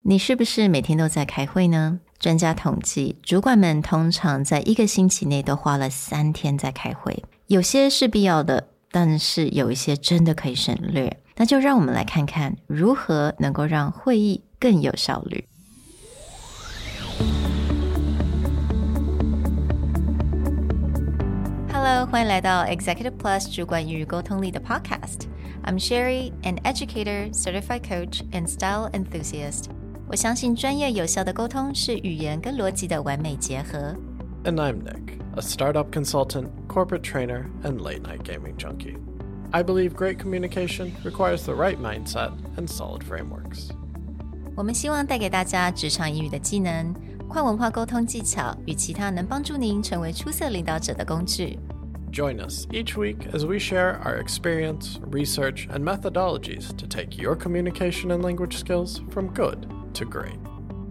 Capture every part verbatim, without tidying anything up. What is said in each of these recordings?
你是不是每天都在開會呢？專家統計，主管們通常在一個星期內都花了三天在開會。有些是必要的，但是有一些真的可以省略。那就讓我們來看看如何能夠讓會議更有效率。Hello， 歡迎來到 Executive Plus 主管與溝通力的 Podcast。I'm Sherry, an educator, certified coach, and style enthusiast. 我相信專業有效的溝通是語言跟邏輯的完美結合。 And I'm Nick, a startup consultant, corporate trainer, and late-night gaming junkie. I believe great communication requires the right mindset and solid frameworks. 我們希望帶給大家職場英語的技能、跨文化溝通技巧與其他能幫助您成為出色領導者的工具。 Join us each week as we share our experience, research, and methodologies to take your communication and language skills from good to great.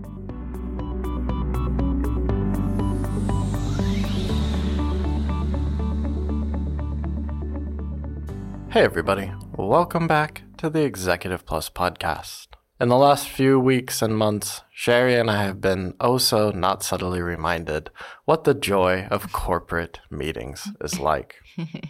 Hey everybody, welcome back to the Executive Plus podcast. In the last few weeks and months, Sherry and I have been oh so not subtly reminded what the joy of corporate meetings is like.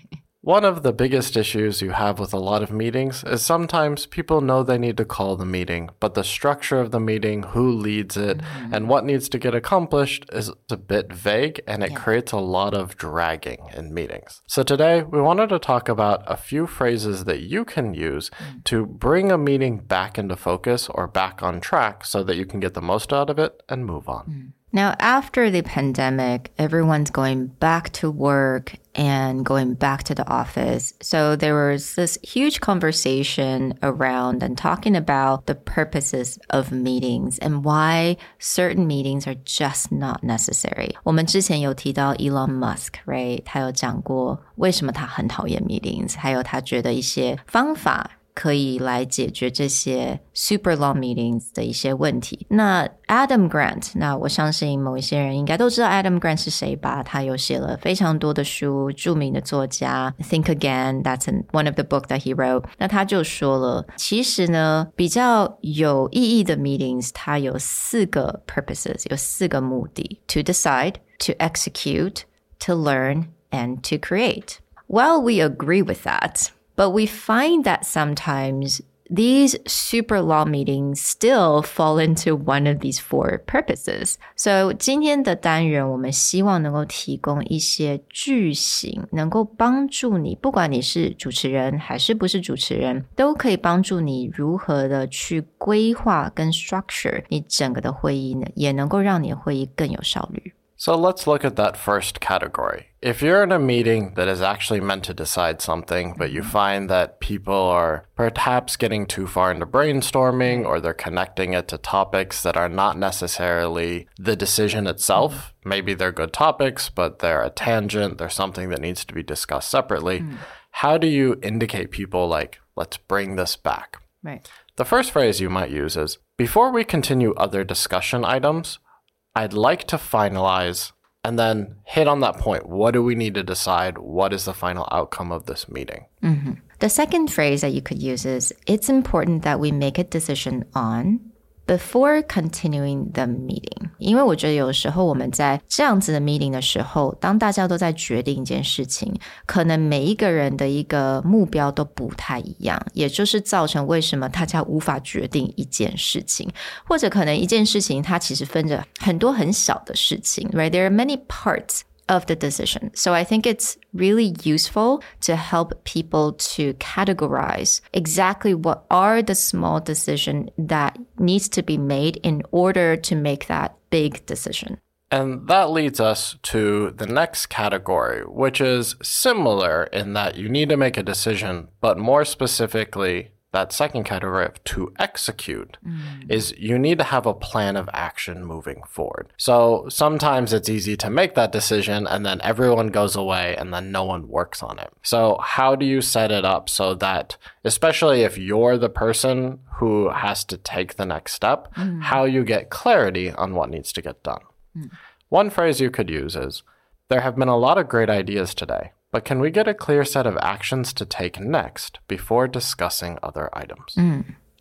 One of the biggest issues you have with a lot of meetings is sometimes people know they need to call the meeting, but the structure of the meeting, who leads it, mm-hmm. and what needs to get accomplished is a bit vague, and it yeah. creates a lot of dragging in meetings. So today, we wanted to talk about a few phrases that you can use mm-hmm. to bring a meeting back into focus or back on track so that you can get the most out of it and move on. Mm-hmm. Now, after the pandemic, everyone's going back to work and going back to the office. So there was this huge conversation around and talking about the purposes of meetings and why certain meetings are just not necessary. 我們之前有提到 Elon Musk, right? 他有講過為什麼他很討厭 meetings, 還有他覺得一些方法可以來解決這些 super long meetings 的一些問題。那 Adam Grant, 那我相信某一些人應該都知道 Adam Grant 是誰吧？他有寫了非常多的書，著名的作家 Think Again, that's one of the book that he wrote. 那他就說了，其實呢，比較有意義的 meetings, 它有四個 purposes, 有四個目的 to decide, to execute, to learn, and to create. Well, we agree with that.But we find that sometimes these super long meetings still fall into one of these four purposes. So 今天的單元我們希望能夠提供一些句型，能夠幫助你，不管你是主持人還是不是主持人，都可以幫助你如何的去規劃跟 structure 你整個的會議呢，也能夠讓你的會議更有效率。 So let's look at that first category. If you're in a meeting that is actually meant to decide something, but you find that people are perhaps getting too far into brainstorming or they're connecting it to topics that are not necessarily the decision itself, maybe they're good topics, but they're a tangent, they're something that needs to be discussed separately, mm. how do you indicate people like, let's bring this back? Right. The first phrase you might use is, before we continue other discussion items, I'd like to finalize and then hit on that point. What do we need to decide? What is the final outcome of this meeting? Mm-hmm. The second phrase that you could use is, it's important that we make a decision on before continuing the meeting. 因為我覺得有時候我們在這樣子的 meeting 的時候，當大家都在決定一件事情，可能每一個人的一個目標都不太一樣，也就是造成為什麼大家無法決定一件事情，或者可能一件事情它其實分着很多很小的事情， right? There are many parts of the decision. So I think it's really useful to help people to categorize exactly what are the small decisions that needs to be made in order to make that big decision. And that leads us to the next category, which is similar in that you need to make a decision, but more specifically, that second category of to execute mm. is you need to have a plan of action moving forward. So sometimes it's easy to make that decision and then everyone goes away and then no one works on it. So how do you set it up so that, especially if you're the person who has to take the next step, mm. how you get clarity on what needs to get done? Mm. One phrase you could use is, there have been a lot of great ideas today, but can we get a clear set of actions to take next before discussing other items? Mm.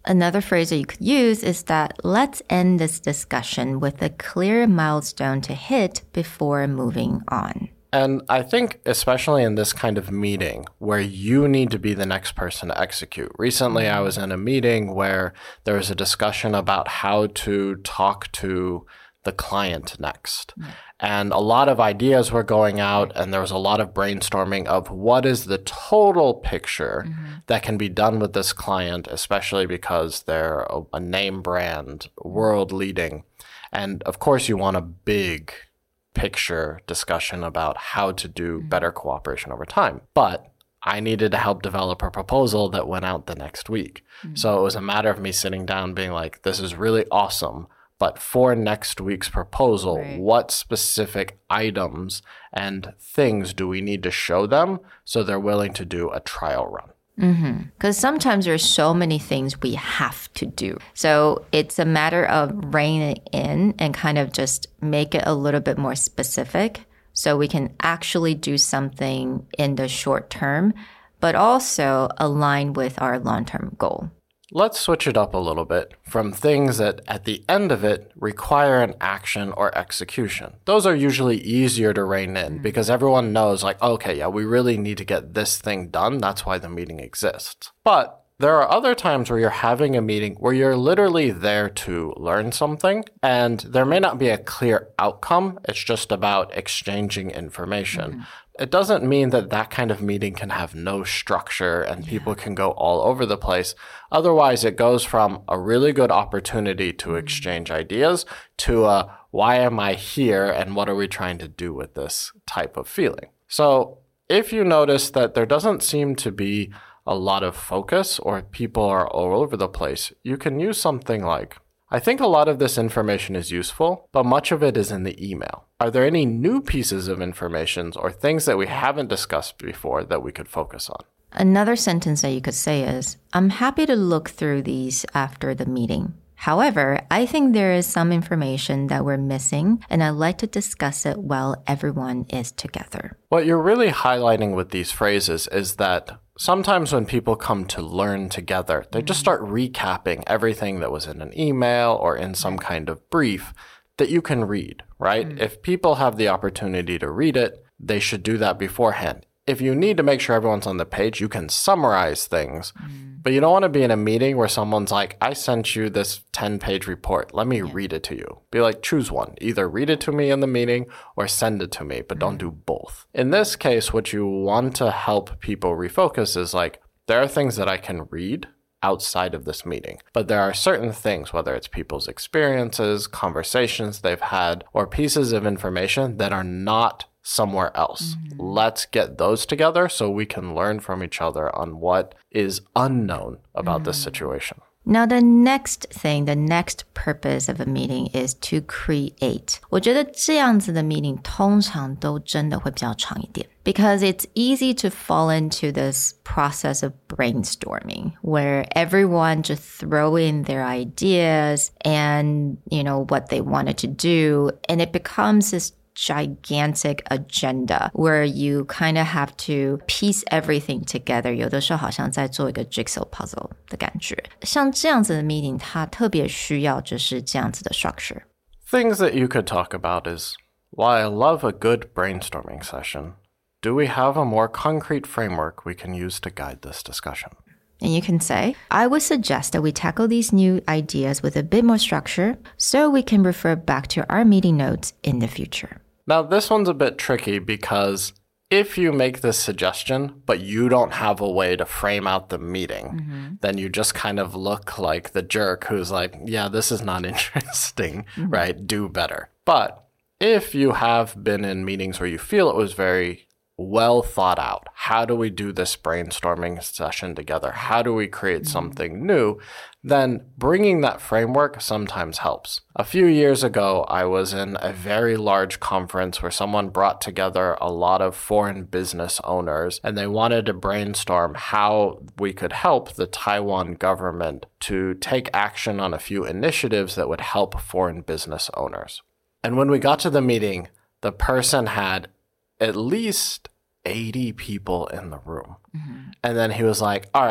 Another phrase that you could use is that let's end this discussion with a clear milestone to hit before moving on. And I think especially in this kind of meeting where you need to be the next person to execute. Recently, I was in a meeting where there was a discussion about how to talk to the client next. Mm. And a lot of ideas were going out, and there was a lot of brainstorming of what is the total picture mm-hmm. that can be done with this client, especially because they're a, a name brand, world leading. And of course, you want a big picture discussion about how to do mm-hmm. better cooperation over time. But I needed to help develop a proposal that went out the next week. Mm-hmm. So it was a matter of me sitting down being like, this is really awesome. But for next week's proposal, right. what specific items and things do we need to show them so they're willing to do a trial run? Because mm-hmm. sometimes there's so many things we have to do. So it's a matter of reining it in and kind of just make it a little bit more specific so we can actually do something in the short term, but also align with our long-term goal. Let's switch it up a little bit from things that at the end of it require an action or execution. Those are usually easier to rein in mm-hmm. because everyone knows like, okay, yeah, we really need to get this thing done. That's why the meeting exists. But there are other times where you're having a meeting where you're literally there to learn something and there may not be a clear outcome. It's just about exchanging information. Mm-hmm. It doesn't mean that that kind of meeting can have no structure and yeah. people can go all over the place. Otherwise, it goes from a really good opportunity to exchange ideas to a why am I here and what are we trying to do with this type of feeling. So if you notice that there doesn't seem to be a lot of focus or people are all over the place, you can use something like, I think a lot of this information is useful, but much of it is in the email. Are there any new pieces of information or things that we haven't discussed before that we could focus on? Another sentence that you could say is, I'm happy to look through these after the meeting. However, I think there is some information that we're missing, and I'd like to discuss it while everyone is together. What you're really highlighting with these phrases is that sometimes when people come to learn together, they just start recapping everything that was in an email or in some kind of brief that you can read, right? Mm. If people have the opportunity to read it, they should do that beforehand. If you need to make sure everyone's on the page, you can summarize things. Mm. But you don't want to be in a meeting where someone's like, I sent you this ten-page report. Let me yeah. read it to you. Be like, choose one. Either read it to me in the meeting or send it to me, but mm. don't do both. In this case, what you want to help people refocus is like, there are things that I can read outside of this meeting. But there are certain things, whether it's people's experiences, conversations they've had, or pieces of information that are not somewhere else. Mm-hmm. Let's get those together so we can learn from each other on what is unknown about mm-hmm. this situation. Now, the next thing, the next purpose of a meeting is to create. 我觉得這樣子的 meeting 通常都真的會比較長一點 because it's easy to fall into this process of brainstorming where everyone just throw in their ideas and, you know, what they wanted to do, and it becomes this gigantic agenda where you kind of have to piece everything together. 有的時候好像在做一個 jigsaw puzzle 的感覺。像這樣子的 meeting 它特別需要就是這樣子的 structure. Things that you could talk about is, while I love a good brainstorming session, do we have a more concrete framework we can use to guide this discussion? And you can say, I would suggest that we tackle these new ideas with a bit more structure so we can refer back to our meeting notes in the future. Now, this one's a bit tricky because if you make this suggestion, but you don't have a way to frame out the meeting, mm-hmm. then you just kind of look like the jerk who's like, yeah, this is not interesting, mm-hmm. right? Do better. But if you have been in meetings where you feel it was very well thought out, how do we do this brainstorming session together? How do we create mm-hmm. something new? Then bringing that framework sometimes helps. A few years ago, I was in a very large conference where someone brought together a lot of foreign business owners, and they wanted to brainstorm how we could help the Taiwan government to take action on a few initiatives that would help foreign business owners. And when we got to the meeting, the person had at least eighty people in the room. Mm-hmm. And then he was like, all right,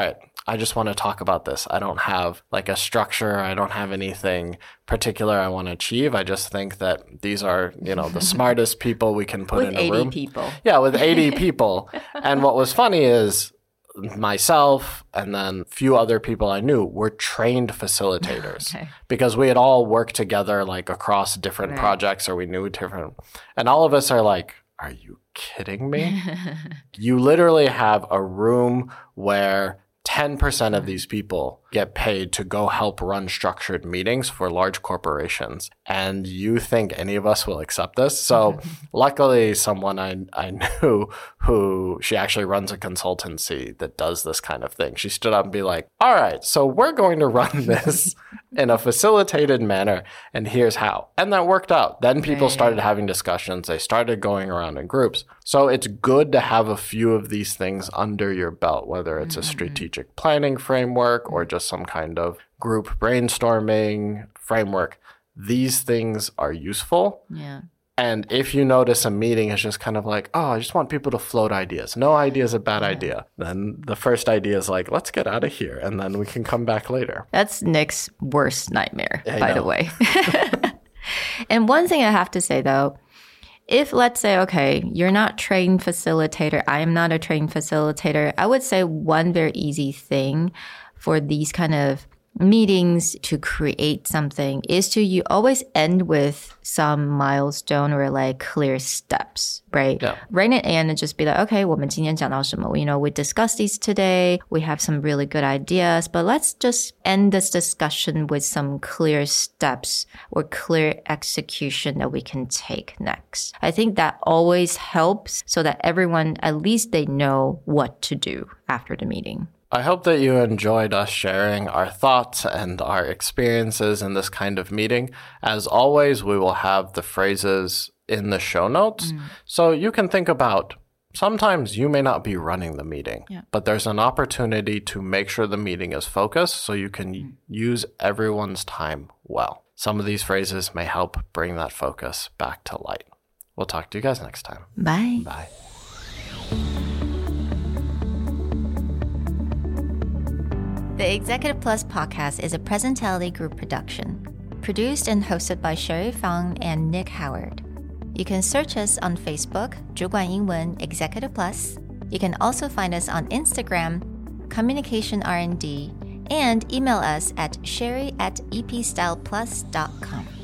I just want to talk about this. I don't have like a structure. I don't have anything particular I want to achieve. I just think that these are, you know, the smartest people we can put with in a room. eighty people. Yeah, with eighty people. And what was funny is myself and then a few other people I knew were trained facilitators okay. because we had all worked together like across different right. projects, or we knew different. And all of us are like, are you kidding me? You literally have a room where ten percent of these people get paid to go help run structured meetings for large corporations. And you think any of us will accept this? So luckily, someone I, I knew who, she actually runs a consultancy that does this kind of thing. She stood up and be like, all right, so we're going to run this in a facilitated manner, and here's how. And that worked out. Then people started having discussions. They started going around in groups. So it's good to have a few of these things under your belt, whether it's a strategic planning framework or just some kind of group brainstorming framework. These things are useful. Yeah. And if you notice a meeting is just kind of like, oh, I just want people to float ideas. No idea is a bad yeah. idea. Then the first idea is like, let's get out of here, and then we can come back later. That's Nick's worst nightmare, I by know. the way. And one thing I have to say, though, if let's say, okay, you're not trained facilitator, I am not a trained facilitator, I would say one very easy thing for these kind of meetings to create something is to you always end with some milestone or like clear steps, right? Yeah. Right at the end and just be like, okay, 我们今天讲到什么? You know, we discussed these today. We have some really good ideas, but let's just end this discussion with some clear steps or clear execution that we can take next. I think that always helps so that everyone, at least they know what to do after the meeting. I hope that you enjoyed us sharing our thoughts and our experiences in this kind of meeting. As always, we will have the phrases in the show notes. Mm. So you can think about, sometimes you may not be running the meeting, yeah. but there's an opportunity to make sure the meeting is focused so you can mm. use everyone's time well. Some of these phrases may help bring that focus back to light. We'll talk to you guys next time. Bye. Bye. The Executive Plus podcast is a Presentality Group production, produced and hosted by Sherry Fang and Nick Howard. You can search us on Facebook, 主管英文 Executive Plus. You can also find us on Instagram, Communication R and D, and email us at sherry at epstyleplus dot com.